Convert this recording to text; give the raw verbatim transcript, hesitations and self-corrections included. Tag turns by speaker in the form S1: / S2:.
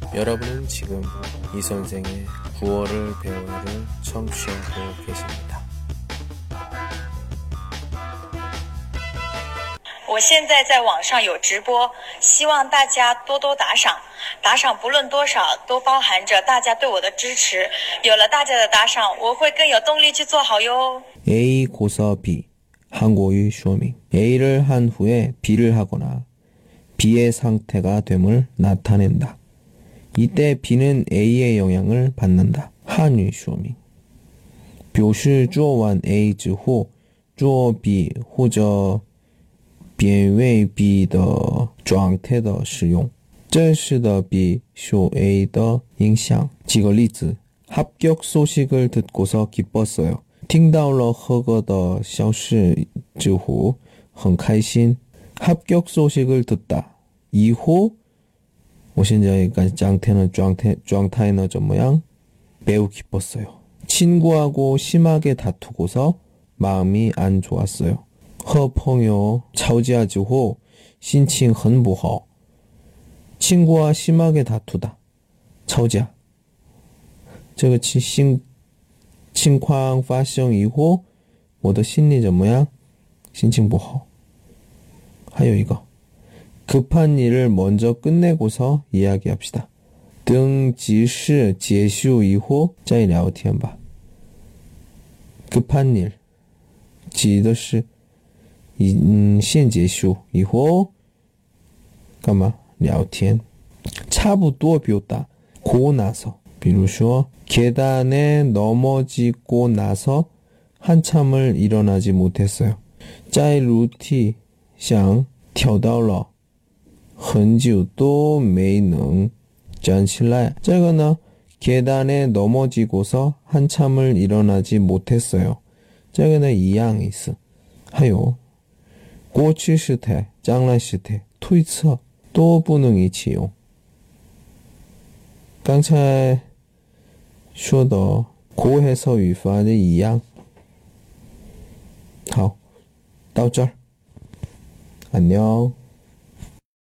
S1: 여러분은 지금 이 선생의 구월을 배우를 청취하고 계십니다.
S2: 我现在在网上有直播，希望大家多多打赏，打赏不论多少都包含着大家对我的支持，有了大家的打赏，我会更有动力去做好哟。
S1: A 고서 B 한국어의 쇼밍 A를 한 후에 B를 하거나 B의 상태가 됨을 나타낸다. 이때 B는 A의 영향을 받는다. 한유 쇼밍 表示做完 A 之后做 B 或者变为 B 的状态的使用，这使得 B 受 A 的影响。举个例子， 합격 소식을 듣고서 기뻤어요. 听到了合格的消息之后很开心。 합격 소식을 듣다以后我现在状态呢状态状态呢怎么样？ 매우 기뻤어요. 친구하고 심하게 다투고서 마음이 안 좋았어요. 和朋友吵架之后心情很不好。 친구와 심하게 다투다 吵架，这个情情况发生以后我的心里怎么样？心情不好。还有一个 급한 일을 먼저 끝내고서 이야기합시다. 등 지시结束以后再聊天吧。 급한 일 指的是嗯先结束以后干嘛？聊天。差不多表达 고 나서 比如说 계단에 넘어지고 나서 한참을 일어나지 못했어요. 在楼梯上跳到了很久都没能站起来。这个呢 계단에 넘어지고서 한참을 일어나지 못했어요. 这个呢一样意思。还有过去时态、将来时态、推测都不能一起用。刚才说的口해서语法的一样。好，到这儿，안녕。